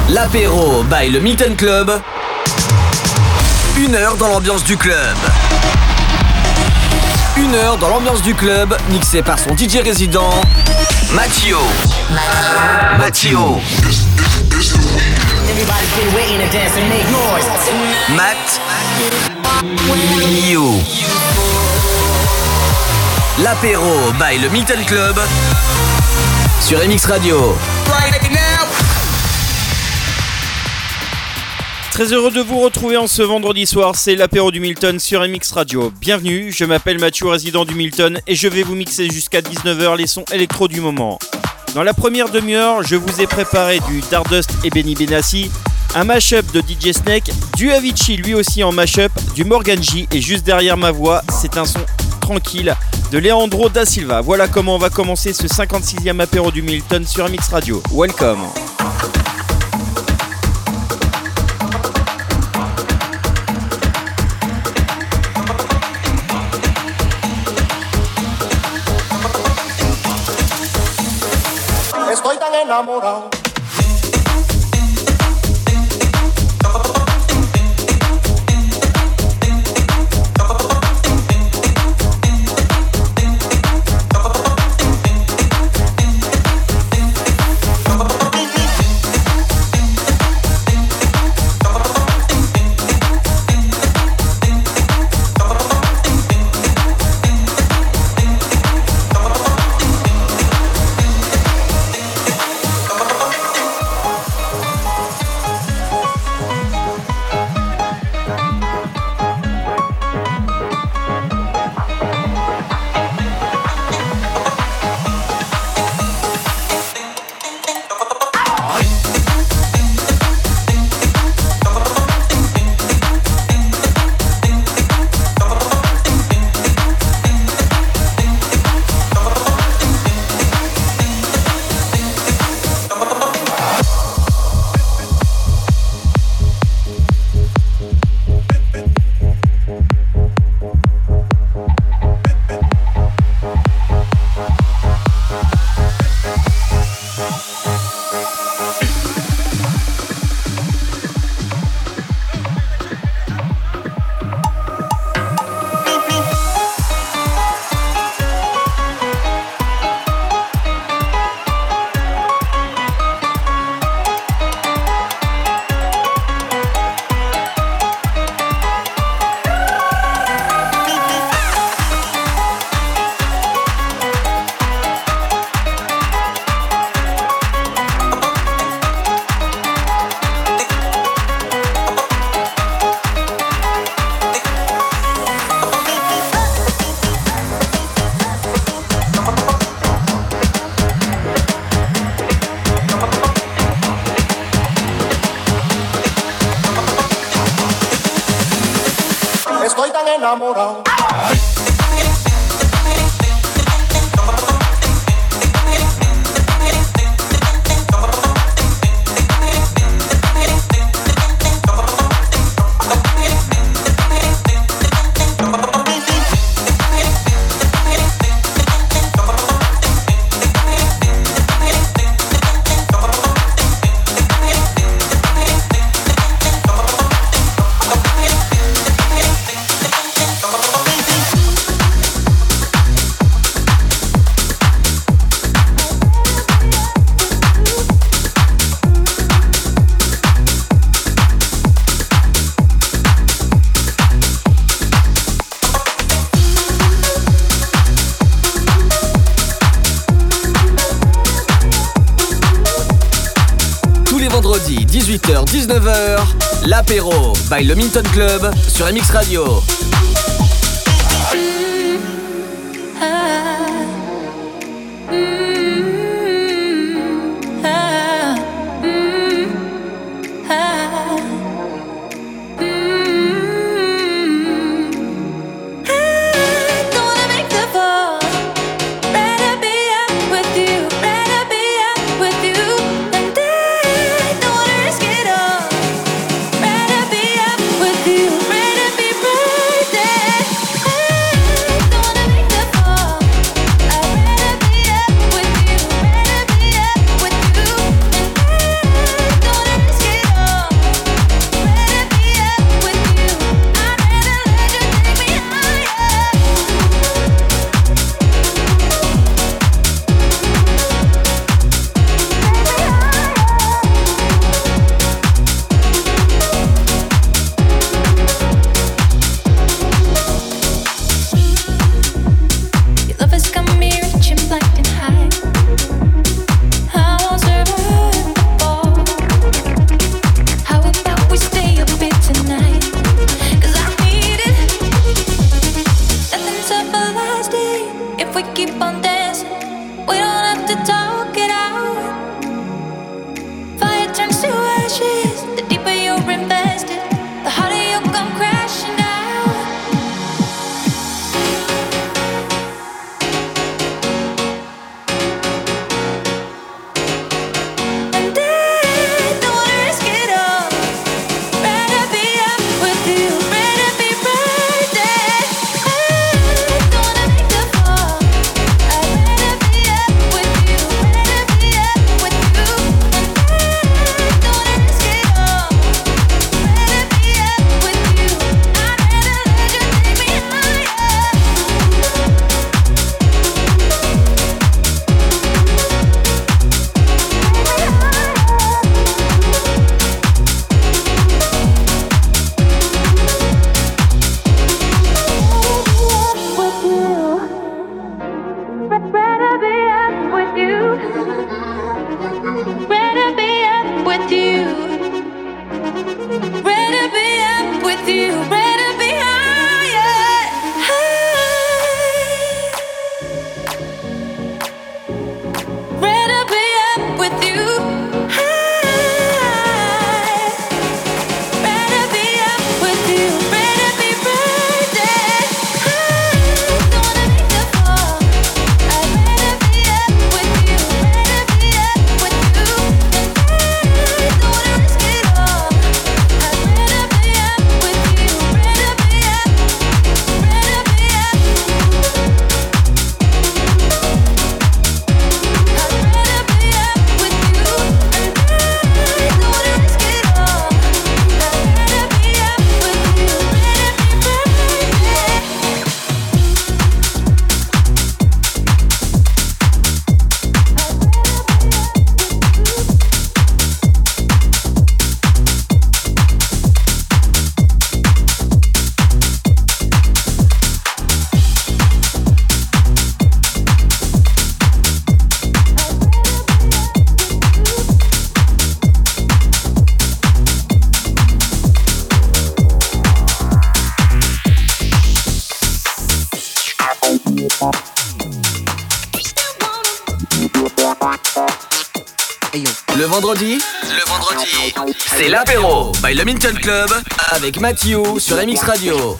L'apéro by le Milton Club. 1 heure dans l'ambiance du club. 1 heure dans l'ambiance du club, mixé par son DJ résident, Mattio. Matt. L'apéro by le Milton Club sur MX Radio. Très heureux de vous retrouver en ce vendredi soir, c'est l'apéro du Milton sur MX Radio. Bienvenue, je m'appelle Mathieu, résident du Milton, et je vais vous mixer jusqu'à 19h les sons électro du moment. Dans la première demi-heure, je vous ai préparé du Dardust et Benny Benassi, un mash-up de DJ Snake, du Avicii lui aussi en mash-up, du Morgan J, et juste derrière ma voix, c'est un son tranquille de Leandro da Silva. Voilà comment on va commencer ce 56e apéro du Milton sur MX Radio. Welcome. Estoy tan enamorado. Estoy tan enamorado. Vendredi 18h-19h, l'apéro by le Milton Club sur MX Radio. Rather be up with you, rather be right there. turns to ashes. The deeper you're invested, the harder you'll come crashing down. And I don't wanna risk it all. Rather be up with you, rather be right there. I don't wanna make the fall. I'd rather be up with you, rather be up with you. And I don't wanna risk it all. Rather be up with you. I'd rather let you take me higher. Rather be up with you. Rather be up with you. Rather be up with you. Rather be higher. Rather be up with you. Rather be up with you. Rather be right there. Don't wanna make the fall. I'd rather be up with you. Rather be up with you. And I don't wanna risk it all. I'd rather be up with you. Rather be up. Rather be up. I'd rather be up with you. And I don't wanna risk it all. I'd rather be up with you. Le vendredi, c'est l'apéro by le Minton Club avec Mathieu sur MX Radio.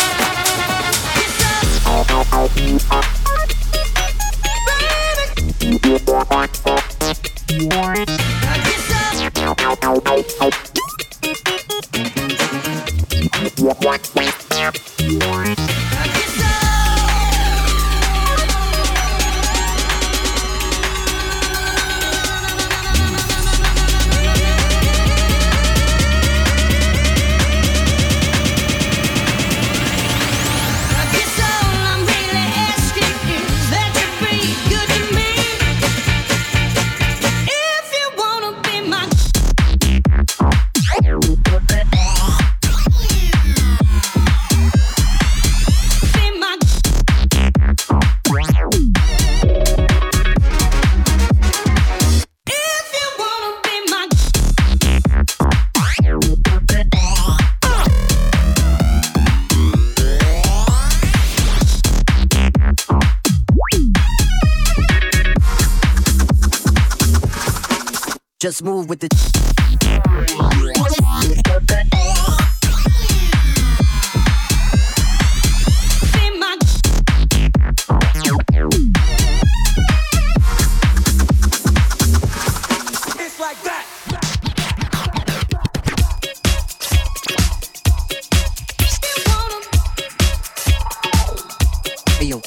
Just move with the It's like that. hey, yo.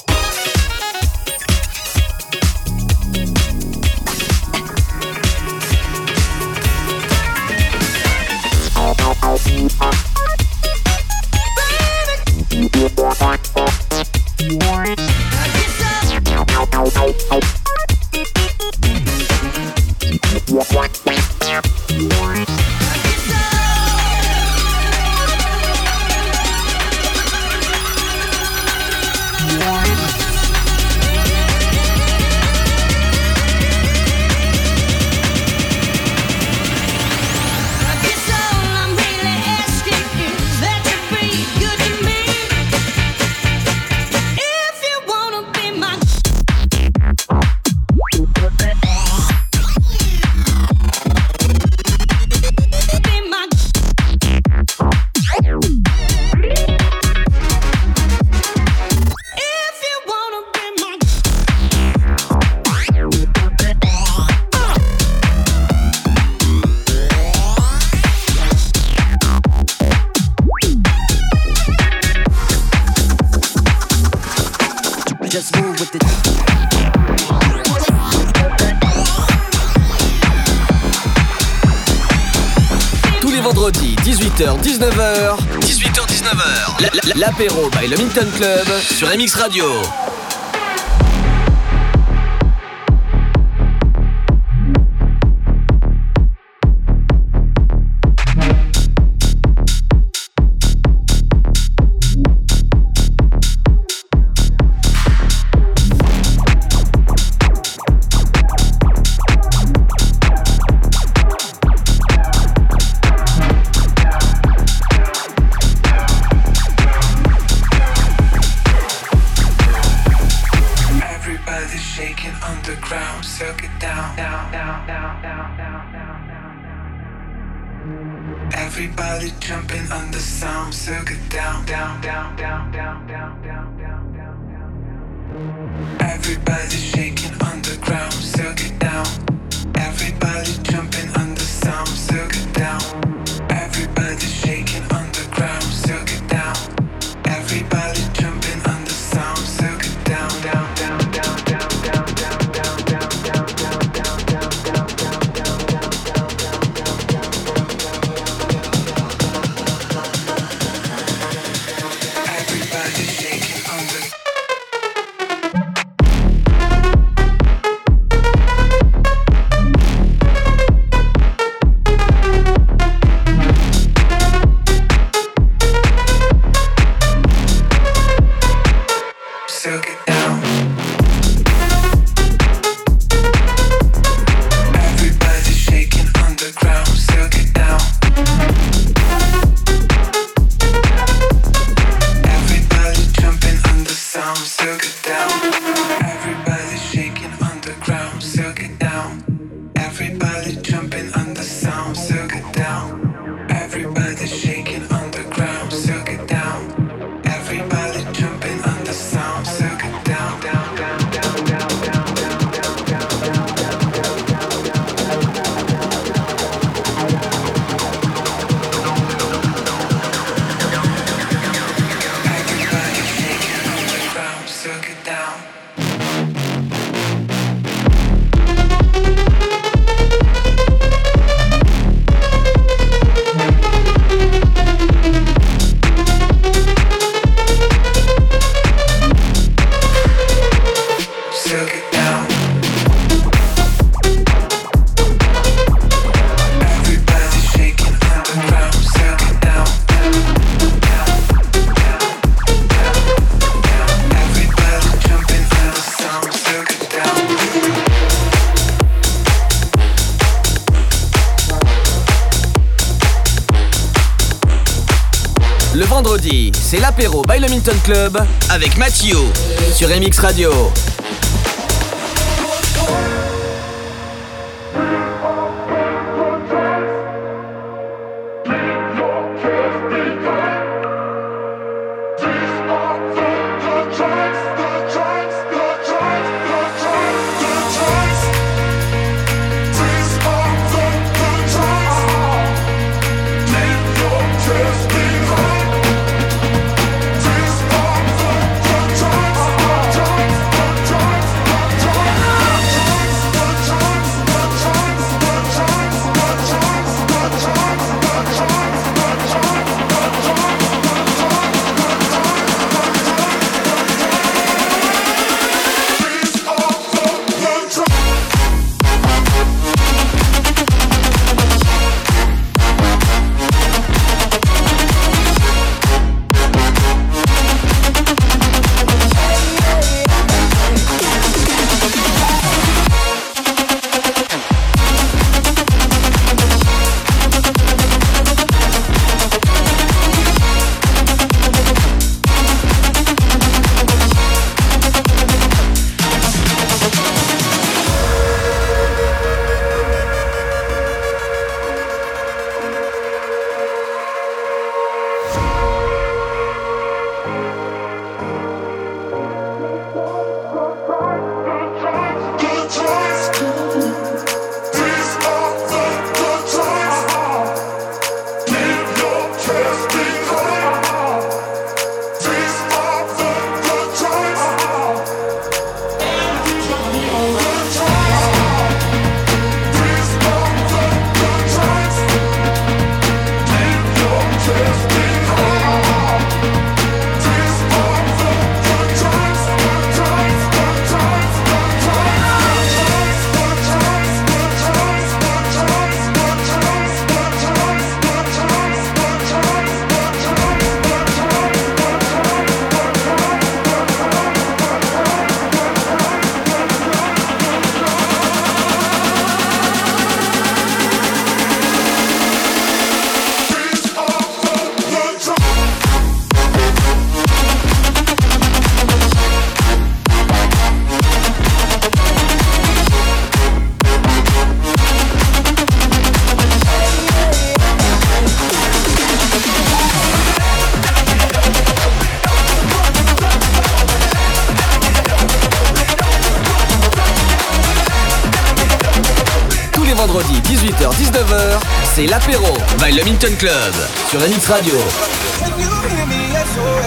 les vendredis, 18h-19h. 18h-19h. L'apéro by le Minton Club sur MX Radio. Everybody jumping on the sound, circle down, down, down, down, down, down, down, down, down. Everybody shaking on the ground, circle down. Everybody jumping on the sound, circle down. Everybody shaking on the ground, circle down. Everybody jumping on the sound, circle down, down, down, down, down, down, down, down, down, down, down, down, down, down, down, down. Le vendredi, c'est l'apéro by le Minton Club avec Mathieu sur MX Radio. Try 18h-19h, c'est l'apéro by Le Minton Club sur MX Radio. Can you hear me? SOS.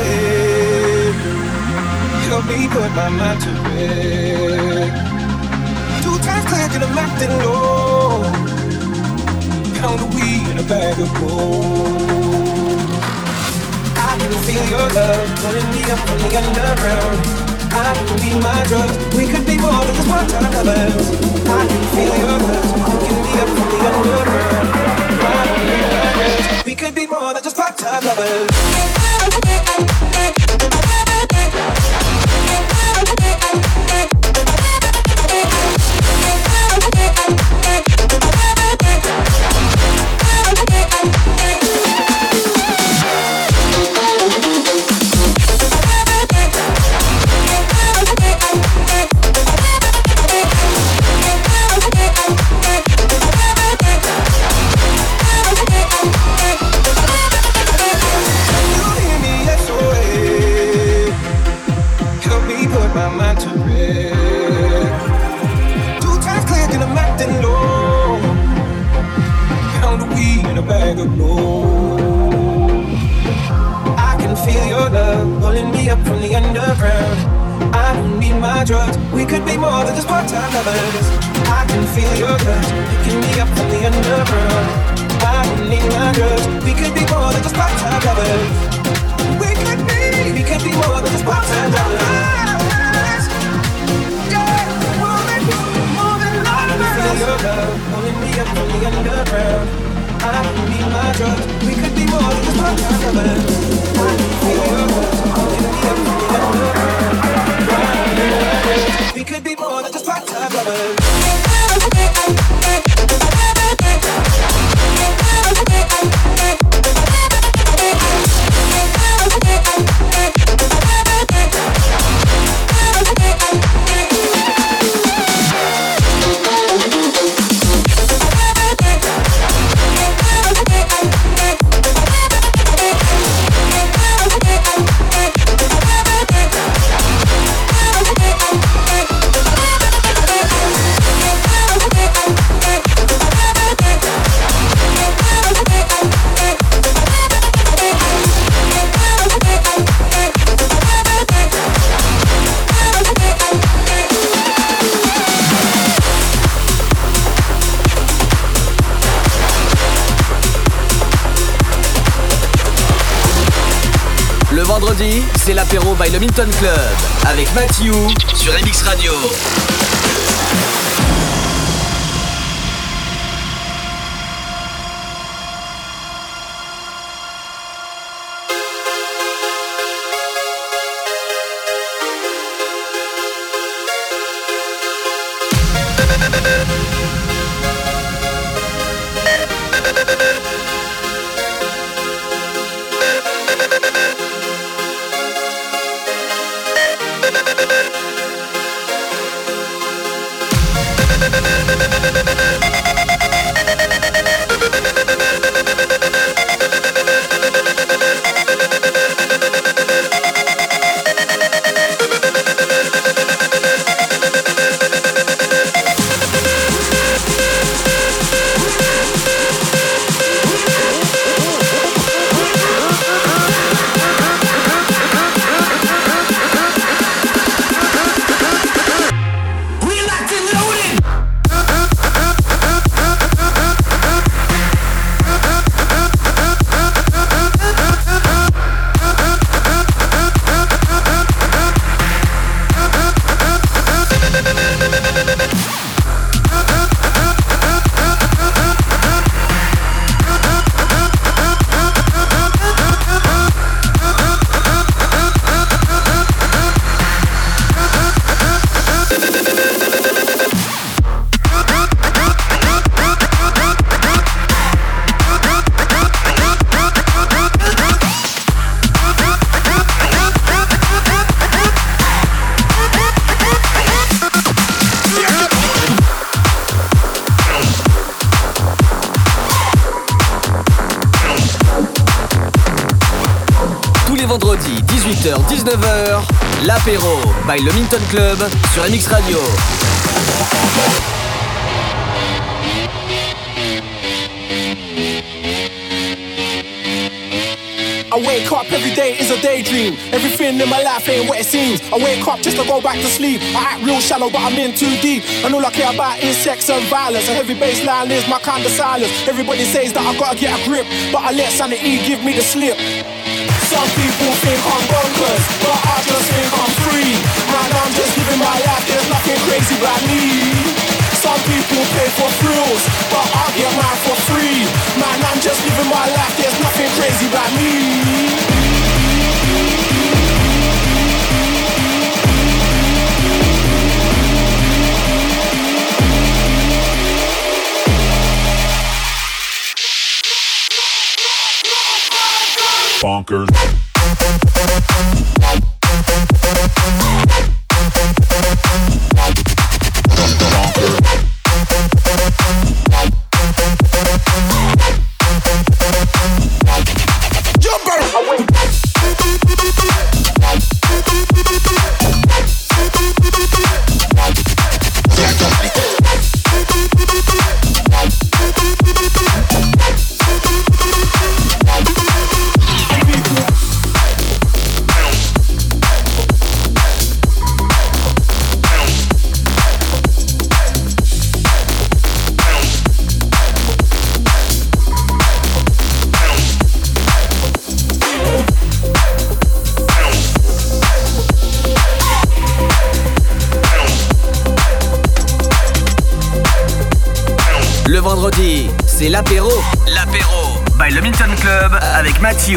Help me put my mind to rest. 2 times click and I'm acting low. Pound of weed in a bag of gold. I can feel your love pulling me up from the underground. I can be my drug. We could be more than just part-time lovers. I can feel your love pulling me up from the underground. I can be my drug. We could be more than just part-time lovers. We could be more than just part-time lovers. I can feel your touch picking me up from the underground. I don't need my drugs. We could be more than just part-time lovers. We could be more than just part-time lovers. Yeah, more than lovers. I can feel your love pulling me up from the underground. I don't need my drugs. We could be more than just part-time lovers. I can feel your love pulling me up from the underground. We could be more than just part-time lovers. Vendredi, c'est l'apéro by Le Minton Club avec Mathieu sur MX Radio. Vendredi 18h-19h, l'apéro by Le Minton Club sur MX Radio. I wake up every day is a daydream. Everything in my life ain't what it seems. I wake up just to go back to sleep. I act real shallow, but I'm in too deep. And all I care about is sex and violence. A heavy bass line is my kind of silence. Everybody says that I gotta get a grip, but I let sanity give me the slip. Some people think I'm bonkers, but I just think I'm free. Man, I'm just living my life, there's nothing crazy about me. Some people pay for thrills, but I get mine for free. Man, I'm just living my life, there's nothing crazy about me. Bonkers. Le vendredi, c'est l'apéro. L'apéro by le Milton Club avec Mathieu.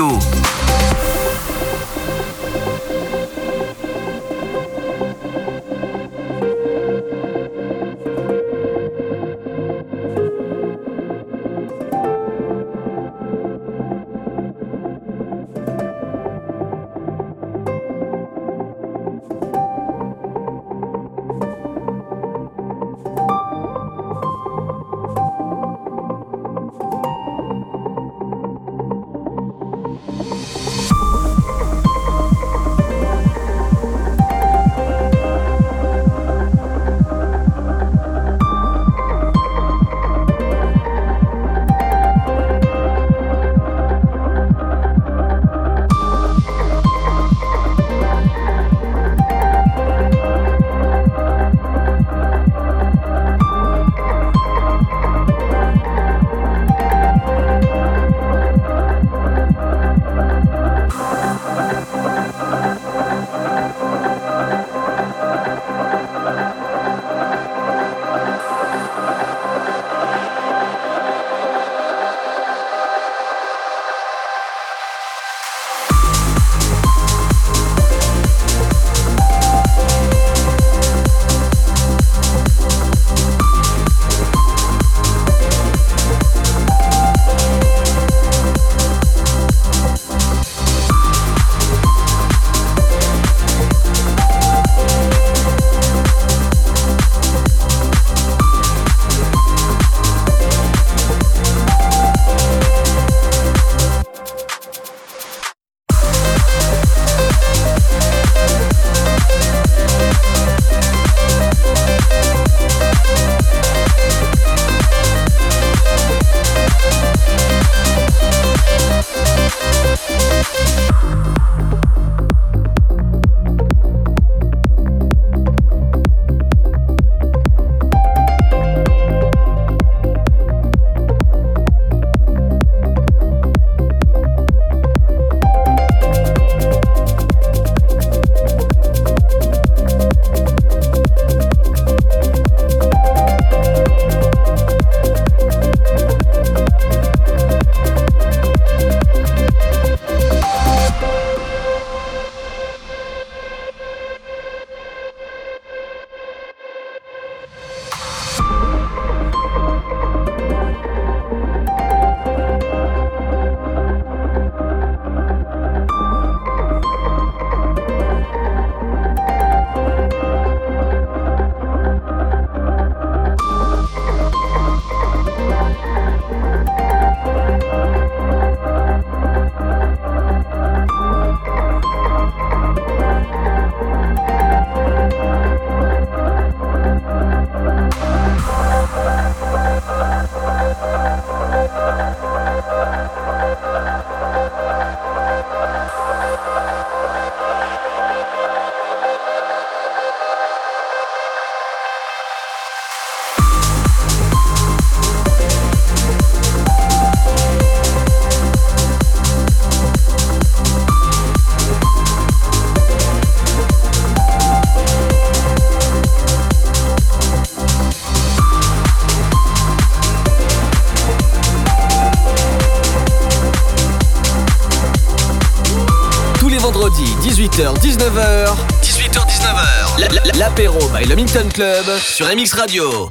18h-19h. 18h-19h. L'apéro by le Minton Club sur MX Radio.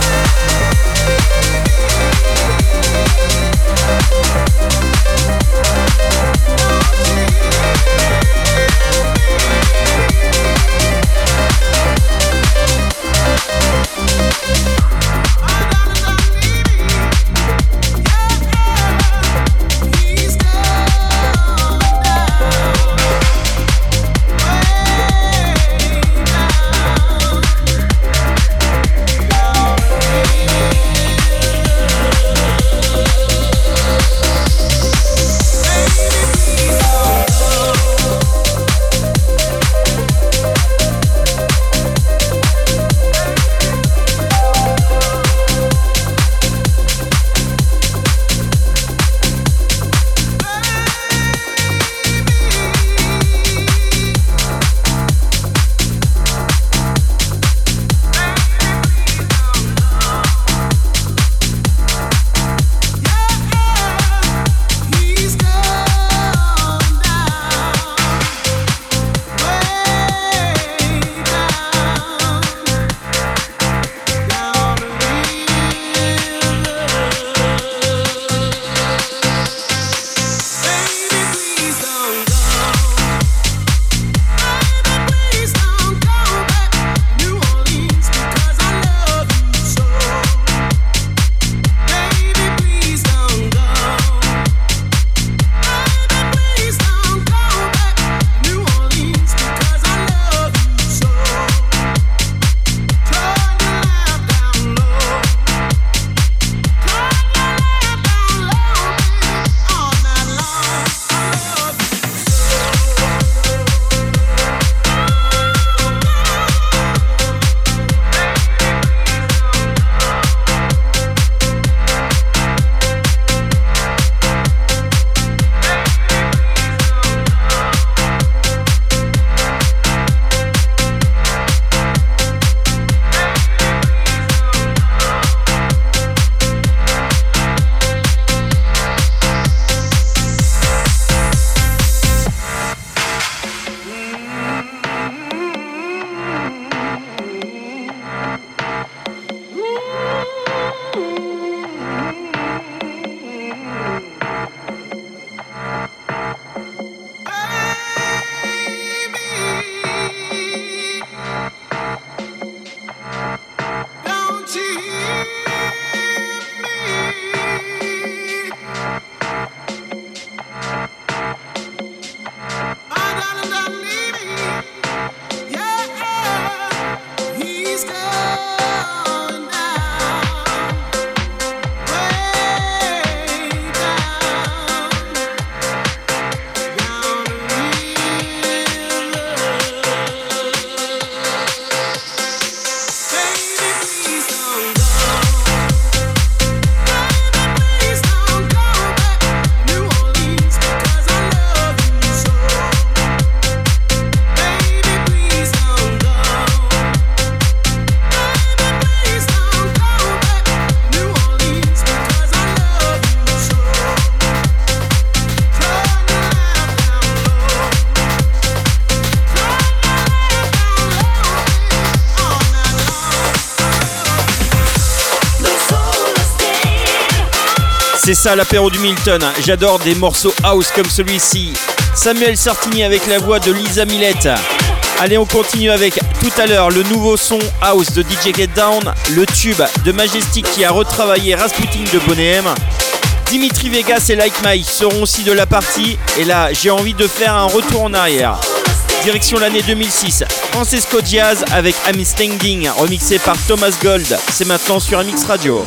C'est ça l'apéro du Milton, j'adore des morceaux house comme celui-ci. Samuel Sartini avec la voix de Lisa Millette. Allez, on continue avec tout à l'heure le nouveau son house de DJ Get Down, le tube de Majestic qui a retravaillé Rasputin de Boney M. Dimitri Vegas et Like Mike seront aussi de la partie. Et là, j'ai envie de faire un retour en arrière. Direction l'année 2006, Francesco Diaz avec I'm Standing, remixé par Thomas Gold. C'est maintenant sur MX Radio.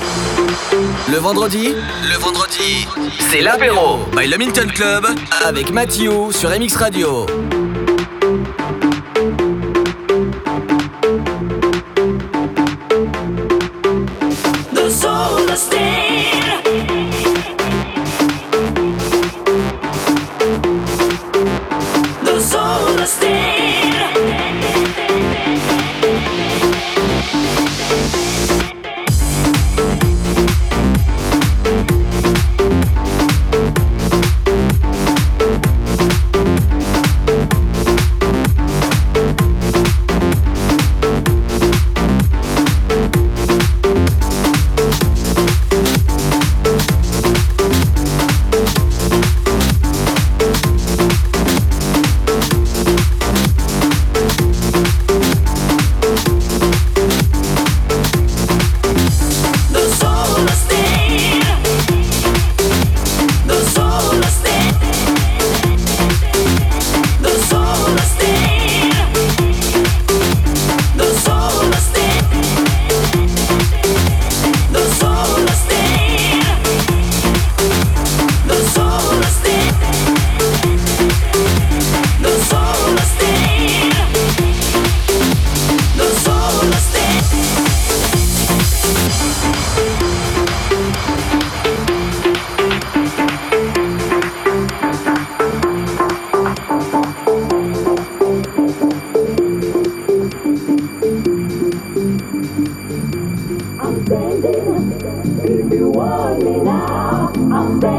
Le vendredi, c'est l'apéro by le Minton Club avec Mathieu sur MX Radio.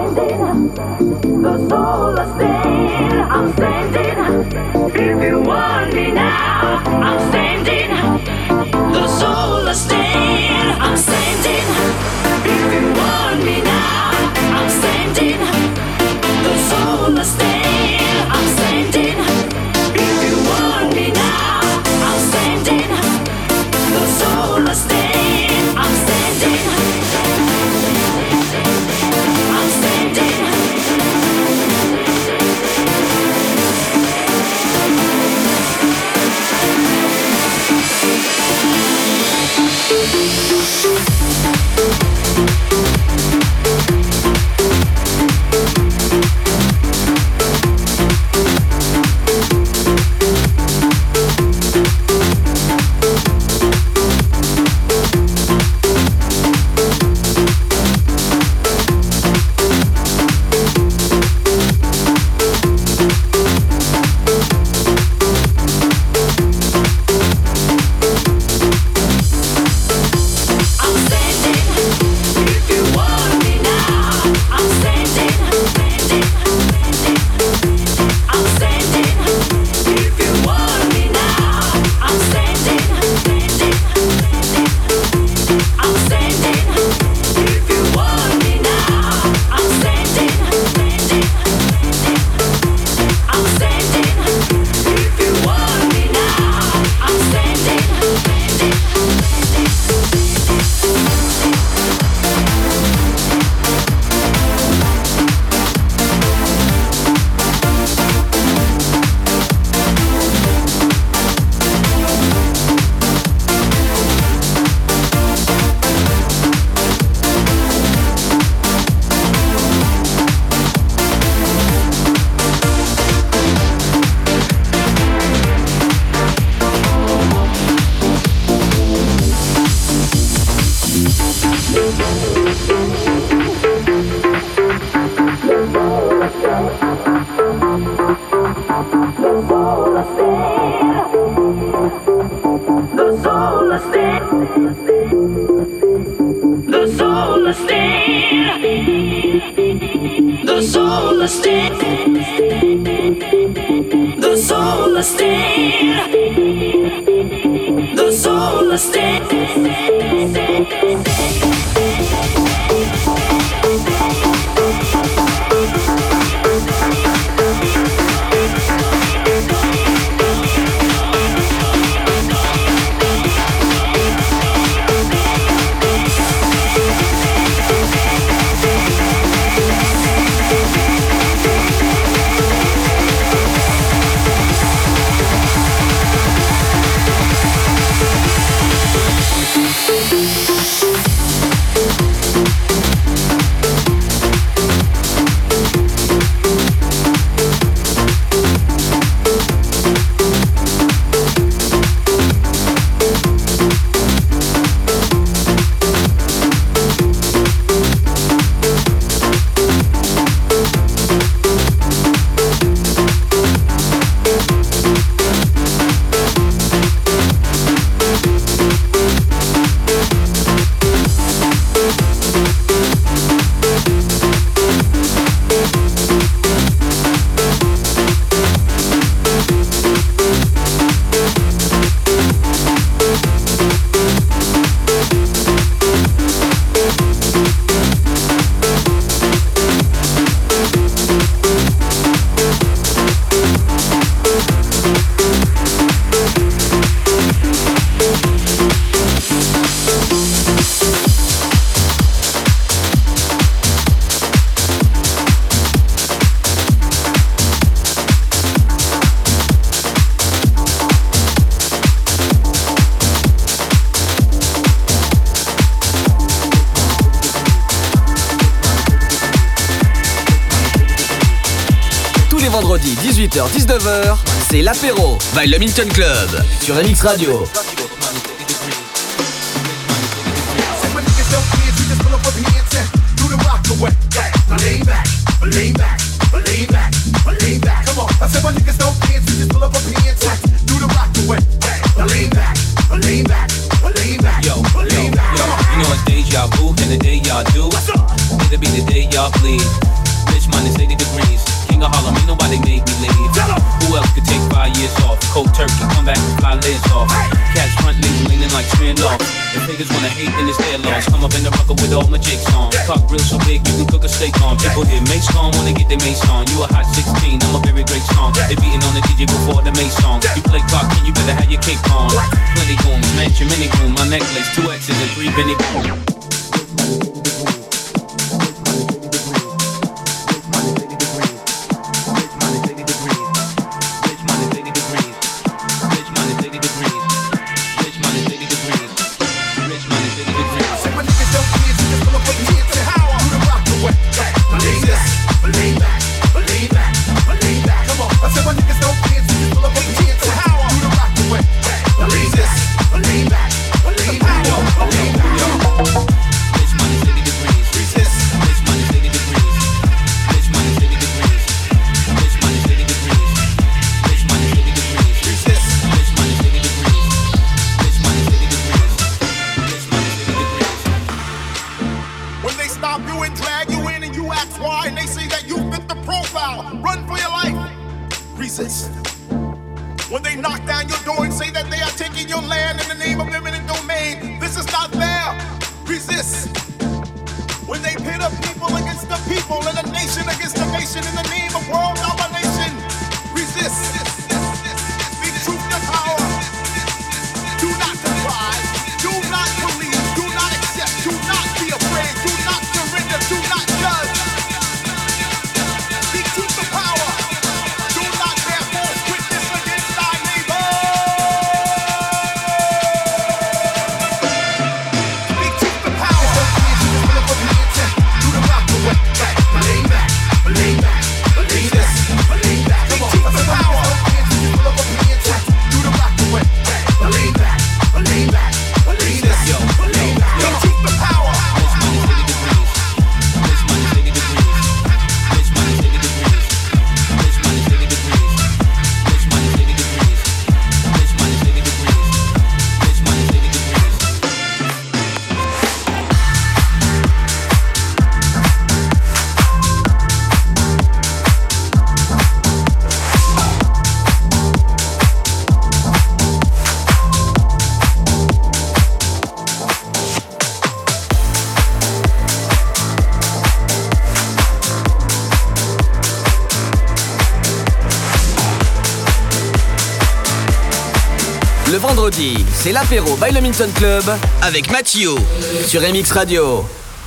vendredi 18h-19h, c'est l'apéro by le Milton Club sur MX Radio. You know it's deja vu, and the day y'all do, it'll be the day y'all bleed. Rich minus 80 degrees. King of Harlem, ain't nobody made me leave. Who else could take 5 years off? Cold turkey, come back and fly lids off. Catch front legs leaning like Smirnoff. If niggas wanna hate, then it's their loss. Come up in the rucker with all my jigs on. Cock grill so big you can cook a steak on. People hear Mace on when they get their mace on. You a hot 16, I'm a very great song. They beating on the DJ before the Mace song. You play clock, and you better have your cake on. Plenty rooms, mansion, mini room. My necklace, 2 X's and 3 Benny Boom. When they knock down your door and say that they are taking your land in the name of eminent domain, this is not fair. Resist. When they pit up people against the people and a nation against a nation in the name of world domination, resist. Be truth to power. Do not despise. Do not believe. Do not accept. Do not be afraid. Do not surrender. Do not judge. Be truth to power. Do not bear false witness against thy neighbor. Be truth to power. Do the rock away. Lean back. Lean back. Lean this. Lean back. Be truth to power. Do the rock away. Lean back. Lean back. Lean this. Lean back. Be truth to power. Le vendredi, c'est l'apéro by le Minton Club avec Mathieu sur MX Radio.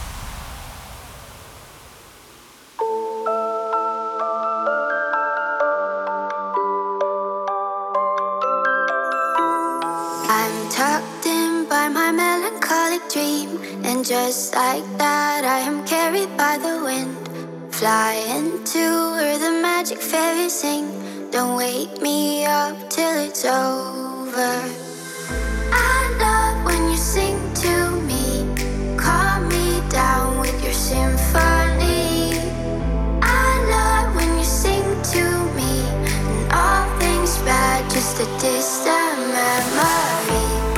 I'm tucked in by my melancholic dream, and just like that I am carried by the wind, flying to where the magic fairies sing. Don't wake me up till it's over. I love when you sing to me, calm me down with your symphony. I love when you sing to me, and all things bad, just a distant memory.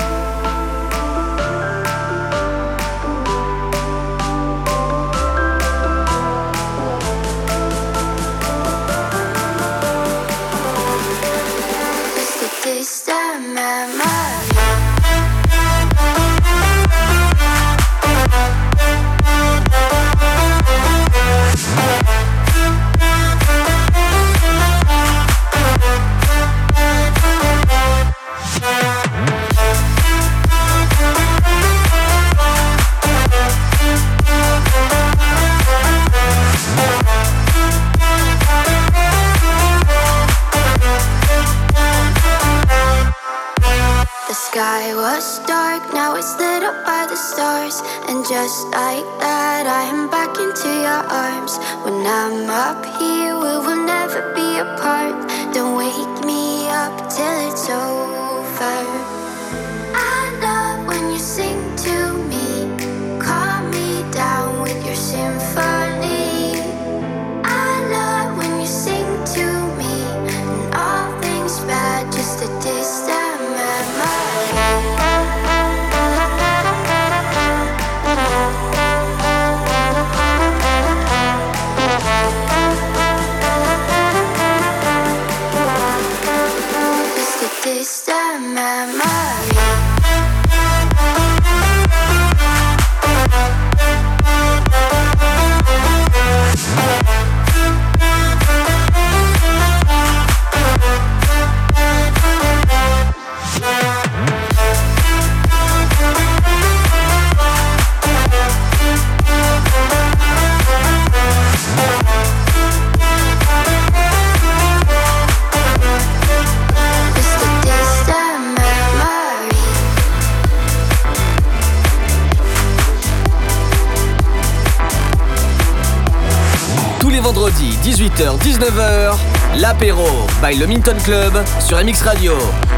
Just a distant memory. The sky was dark, now it's lit up by the stars. And just like that, I am back into your arms. When I'm up here, we will never be apart. Don't wake me up till it's over. I love when you sing to me, calm me down with your symphony. I love when you sing to me, and all things bad, just a distant memory. les vendredis 18h-19h, l'apéro by le Minton Club sur MX Radio.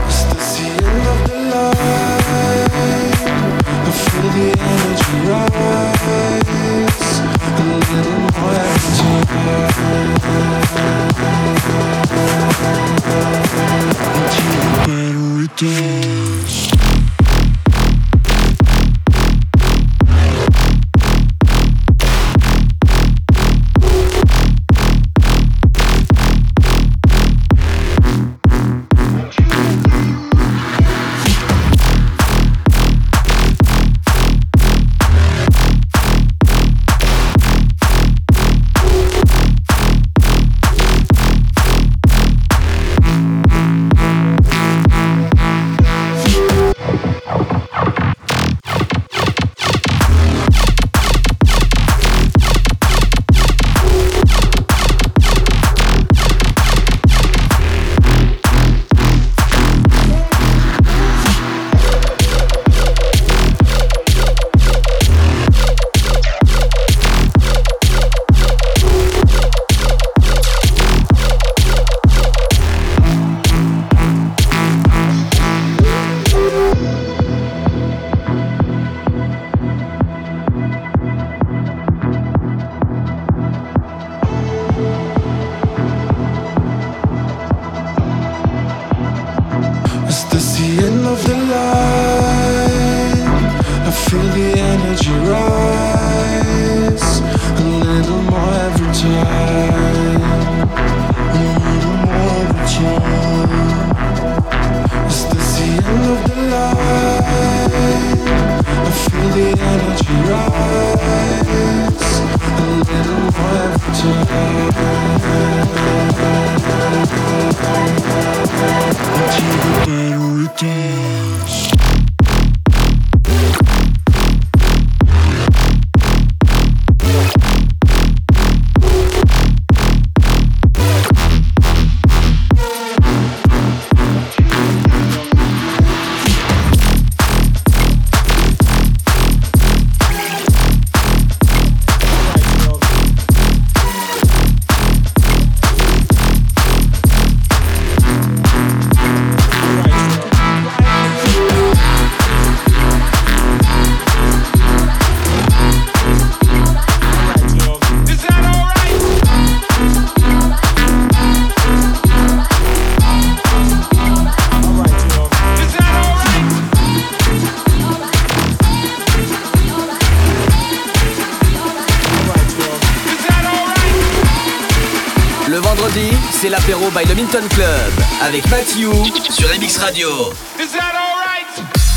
C'est l'apéro by le Minton Club avec Mathieu sur MX Radio. Is that all right?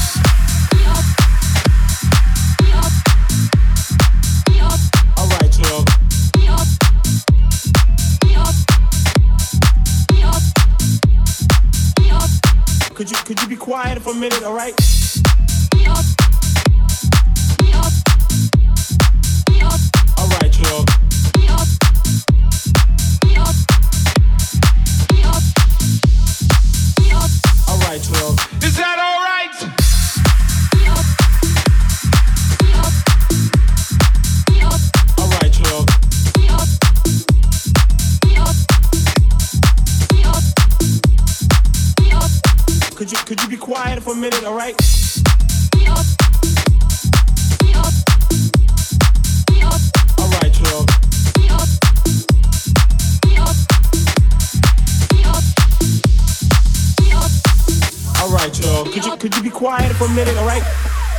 All right, y'all. Could you be quiet for a minute, all right? All right, y'all. All right, y'all. Is that all right? All right, y'all. Could you be quiet for a minute, all right? All right, y'all. All right, y'all. Could you be quiet for a minute, all right?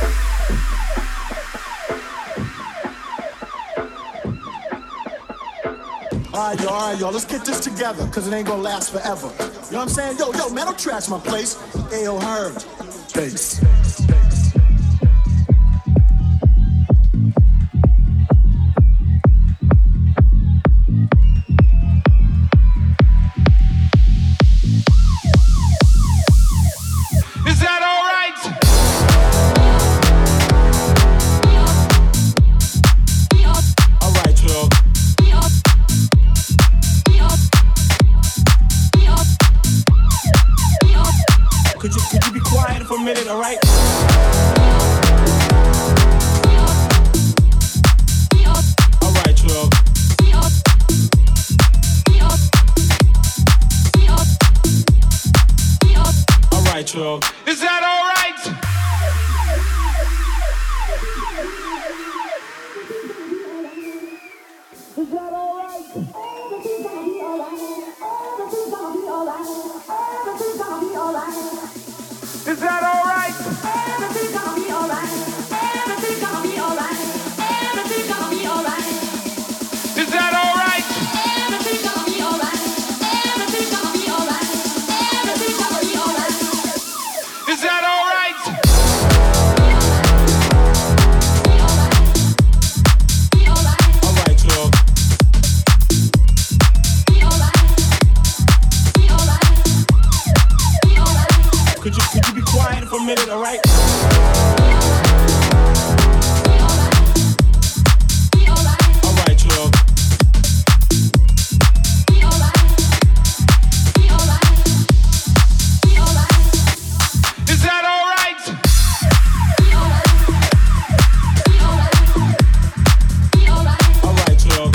All right, y'all, let's get this together, cause it ain't gonna last forever. You know what I'm saying? Yo, man, don't trash my place. Ayo, Herb. Bass. Is that all right? All right, y'all. Could you be quiet for a minute, all right? All right, y'all. alright? Alright, y'all. Is that all right? All right, y'all.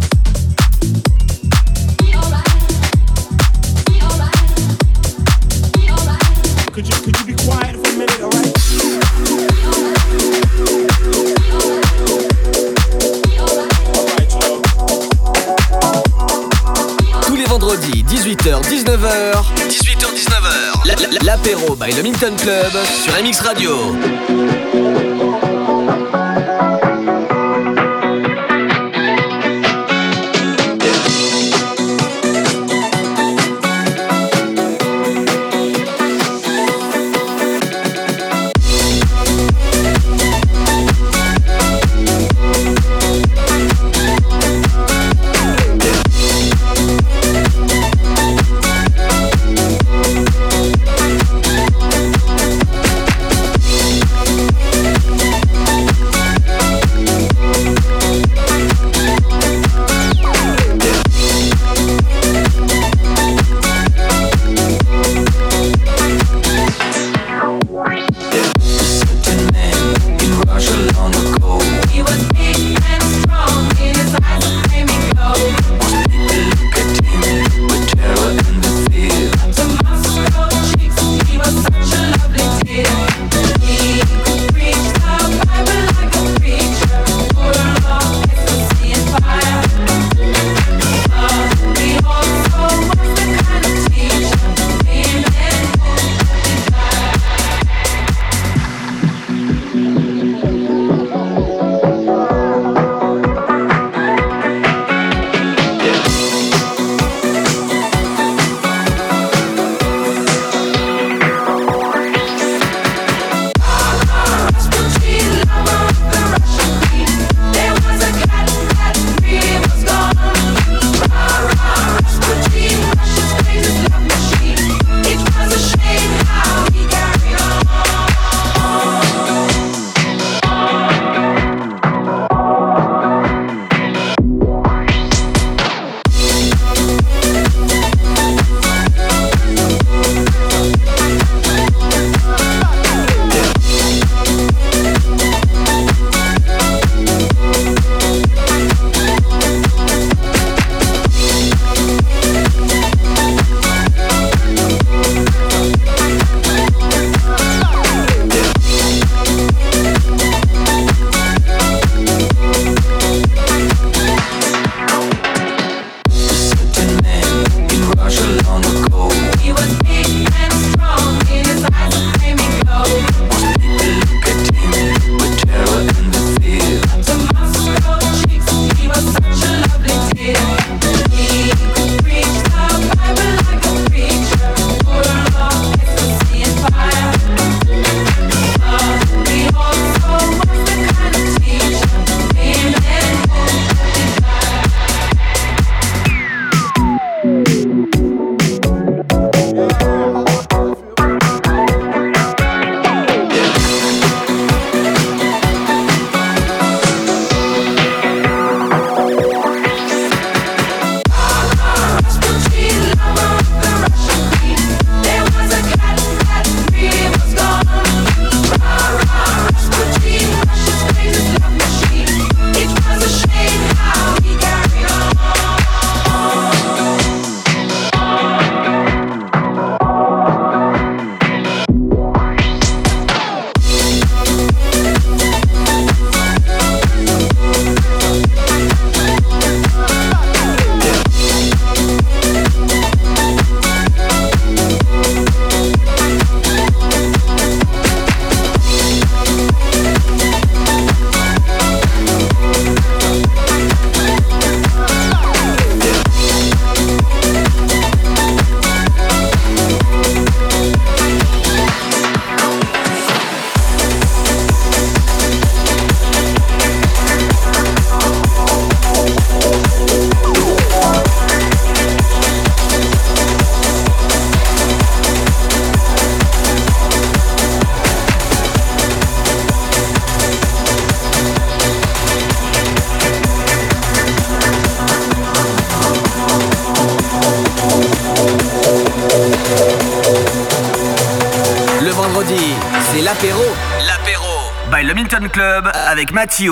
Could you be quiet for a minute, all right? Tous les vendredis, 18h-19h. 18h-19h. L'apéro by le Milton Club sur MX Radio. C'est l'apéro. L'apéro by le Minton Club avec Mathieu.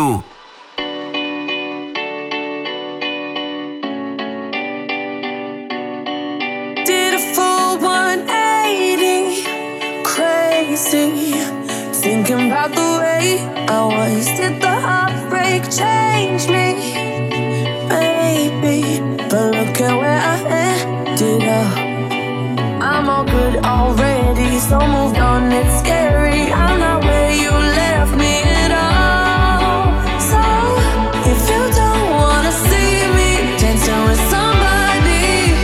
Did a full 180, crazy. Thinking about the way I was. Did the heartbreak change me? Maybe, but look at where I ended up. I'm all good already, so moved on, it's scary. I'm not where you left me at all. So, if you don't wanna see me dancing with somebody,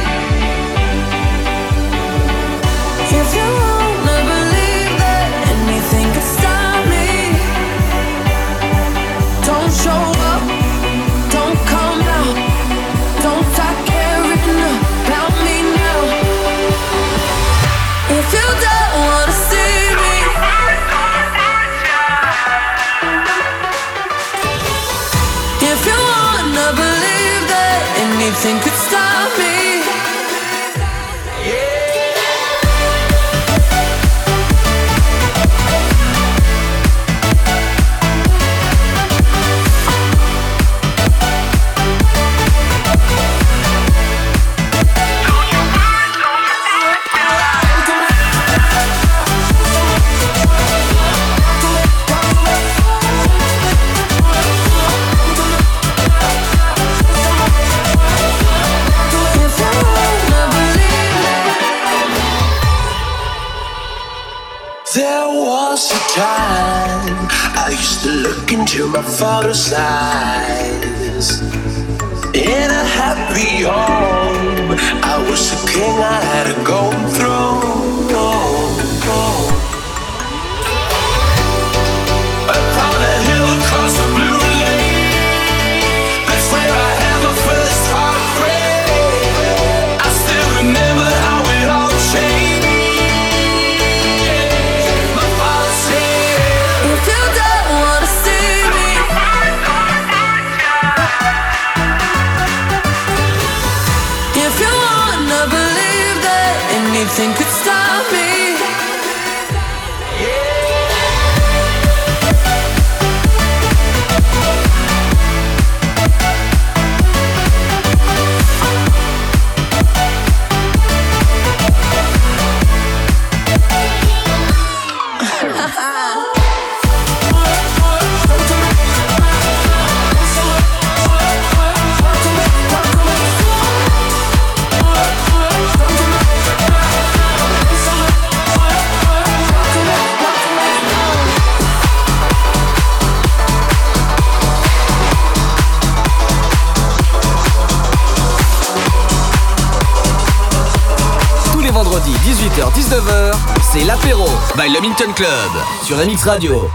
if you wanna believe that anything could stop me, don't show up, don't come out, don't start caring about me now. If you don't wanna see me, if you wanna believe that anything could stop me. There was a time I used to look into my father's eyes. In a happy home, I was a king, I had a golden throne. Upon a hill across the blue lake, that's where I had my first heartbreak. I still remember how it all changed. Anything could stop me. Vendredi 18h-19h, c'est l'apéro by le Minton Club sur MX Radio.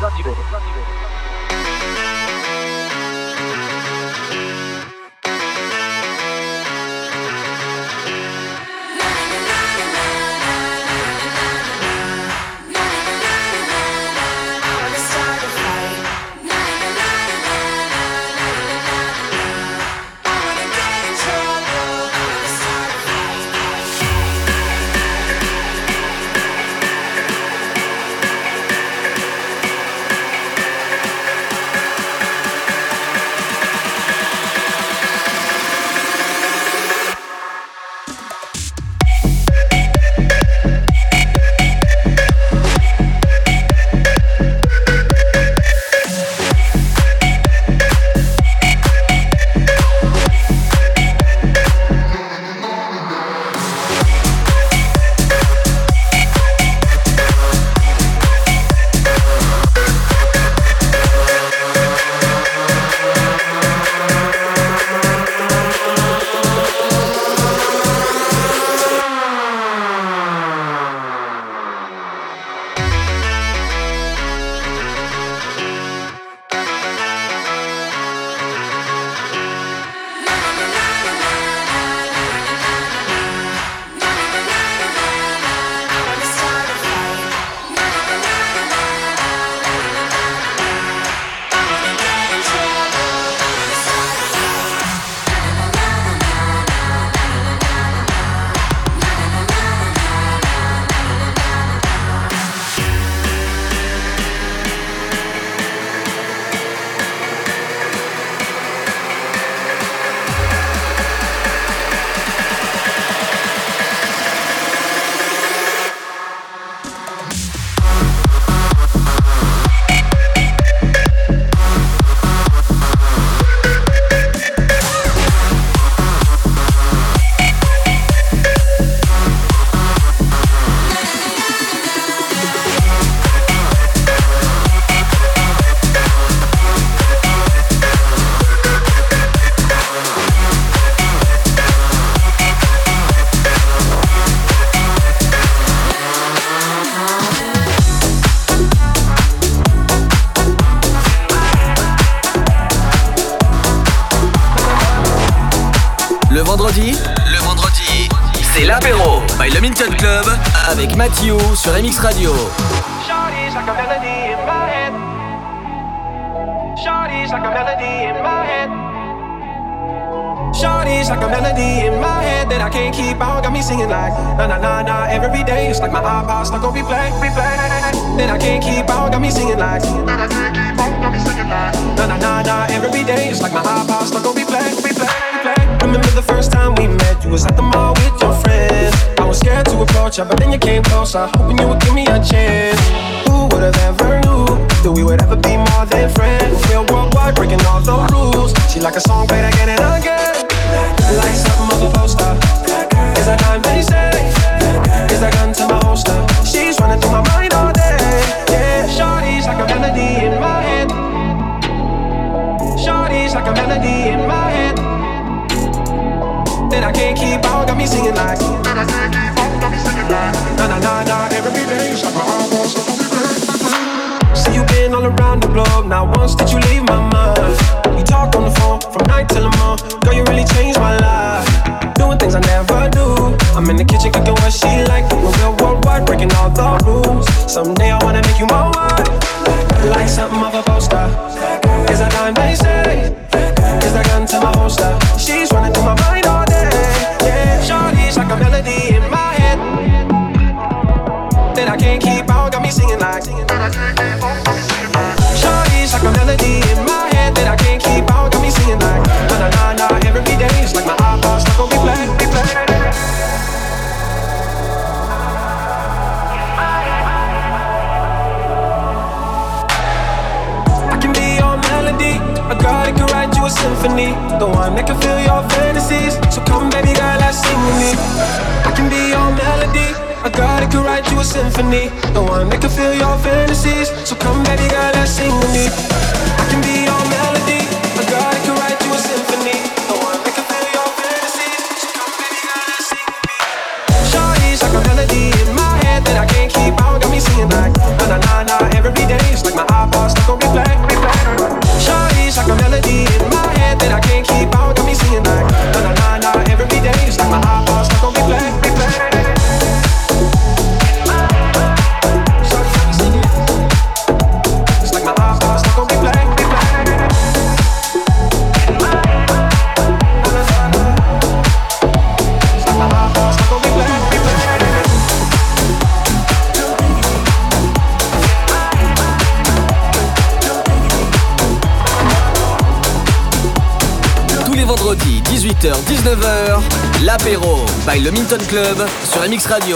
C'est l'apéro by le Minton Club avec Mathieu sur MX Radio. Shawty's like a melody in my head. Shawty's like a melody in my head. Shawty's like a melody in my head that I can't keep out. Got me singing like na na na na every day. It's like my iPod stuck on replay, replay. That I can't keep out. Got me singing like that I can't keep out. Got me singing like na na na na every day. It's like my iPod stuck on replay, replay, replay. Remember the first time we met? You was at the mall with your friends. I was scared to approach her, but then you came closer, hoping you would give me a chance. Who would have ever knew that we would ever be more than friends? We're worldwide, breaking all the rules. She like a song played again and again, like something of a poster. Is that time they say? Is that gun to my holster? She's running through my mind all day. Yeah, shawty's like a melody in my head. Shawty's like a melody in my head that I can't keep out. Got me singing like that I can't keep out. Got me singing like na na na na every day. It's like my heart wants to be. See you been all around the globe. Not once did you leave my mind. We talk on the phone from night till the morning. Girl, you really changed my life. Doing things I never do. I'm in the kitchen cooking what she like. We're worldwide, breaking all the rules. Someday I wanna make you my wife, like something of a poster. Is that time they say? Is that gun to my holster? She's running through my mind all day. Yeah, shawty's like a melody in my head that I can't keep out. Got me singing like shawty's like a melody in my head that I can't keep out. Got me singing like na na na na every day. It's like my iPod stuck on replay, replay. I can be your melody, a girl that can write you a symphony, the one that can fill your fantasies. So come baby girl, let's sing with me. I can be your melody, a girl that can write you a symphony, the one that can fill your fantasies. So come baby girl, let's sing with me. I can be your melody, a girl that can write you a symphony, the one that can fill your fantasies. So come baby girl, let's sing with me. Shawty's like a melody in my head that I can't keep out. Got me singing like na na na na every day. It's like my iPod stuck on replay, replay. Shawty's like a melody in my head that I can't keep out. Got me singing like na na na na every day. It's like my iPod stuck on replay, replay. It's like my iPod stuck on replay, replay. It's like my iPod stuck on replay, replay. Tous les vendredis 18h-19h, l'apéro by le Minton Club sur MX Radio.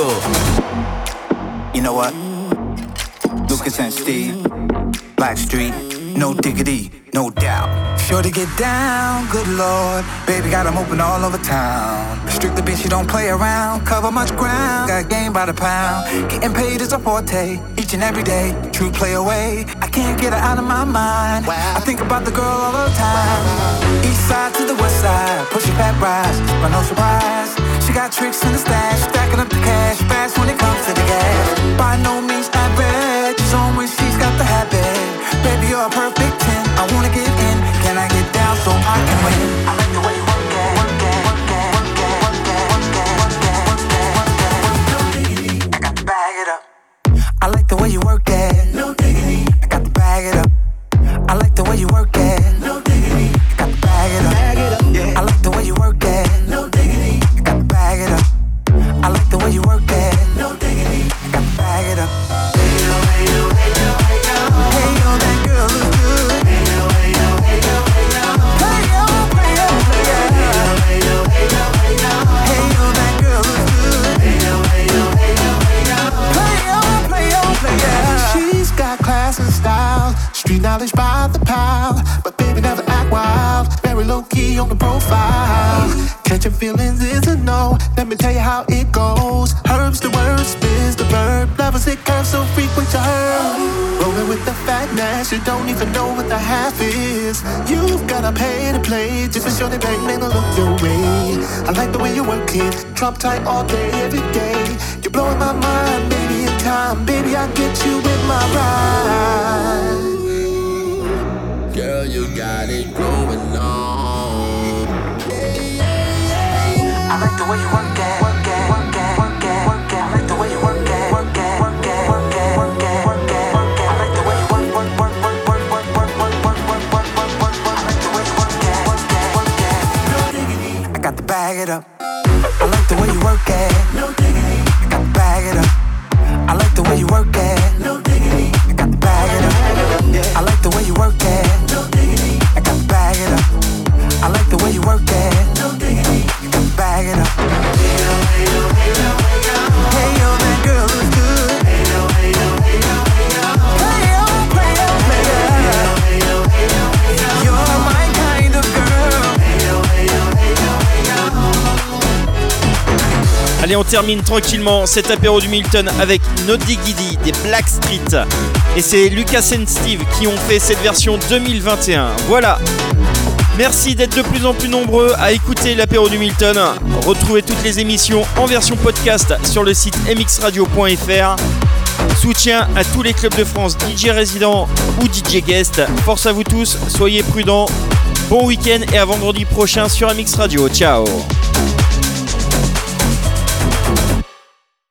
You know what? Lucas and Steve, Blackstreet, no diggity, no doubt. Sure to get down, good lord. Baby got 'em open all over town. Strictly bitch, you don't play around. Cover much ground, got game by the pound. Getting paid is a forte, each and every day. True play away, I can't get her out of my mind. I think about the girl all the time. East side to the west side, pushing back rise, but no surprise. She got tricks in the stash, stacking up the cash, fast when it comes to the gas. By no means average, she's on when she's got the habit. Baby, you're a perfect 10, I wanna get in. Can I get down so I can win? I like the way you work it, work it, work it, work it, work it, work it, work it, work it, work it. I got to bag it up. I like the way you work it. No diggity. I got to bag it up. I like the way you work it. No diggity. I got to bag it up. Bag it up. Yeah. I like the way you work it. No diggity. I got to bag it up. I like the way you work it. No diggity. I got to bag it up. Hey yo, hey yo, hey yo, hey yo. Hey yo, that girl looks good. Hey yo, hey yo, hey yo, hey yo. Hey yo, hey yo, hey yo. Hey yo, hey yo, hey yo. Hey yo, that girl looks good. Hey yo, hey yo, hey yo, hey yo. Play yo, play yo, play yo. She's got class and style, street knowledge by the pile. But baby never act wild, very low key on the profile. Catching feelings is a no, let me tell you how it goes. Herbs the word, spins the verb, levels it curves so frequent to her. Rolling with the fatness, you don't even know what the half is. You've gotta pay to play, just for sure they bang, man, look your way. I like the way you work it, Trump tight all day, every day. You're blowing my mind, baby, in time, baby, I get you with my ride. Girl, you got it going on. I like the way you work it, work it, work like the way you work it. No diggity. I got to bag it up. I like the way you work it. No diggity. I got to bag it up. I like the way you work it. No diggity. I got to bag it up. I like the way you work it. No diggity. I got to bag it up. Hey yo, hey yo, hey yo, hey yo. Hey yo, that girl looks good. Hey yo, hey yo, hey yo, hey yo. Hey yo, player, player. Hey yo, hey yo, hey yo. You're my kind of girl. Hey yo, hey yo, hey yo, hey yo. Allez, on termine tranquillement cet apéro du Milton avec No Diggity des Blackstreet. Et c'est Lucas and Steve qui ont fait cette version 2021. Voilà. Merci d'être de plus en plus nombreux à écouter l'apéro du Milton. Retrouvez toutes les émissions en version podcast sur le site mxradio.fr. Soutien à tous les clubs de France, DJ résidents ou DJ guest. Force à vous tous, soyez prudents. Bon week-end et à vendredi prochain sur MX Radio. Ciao.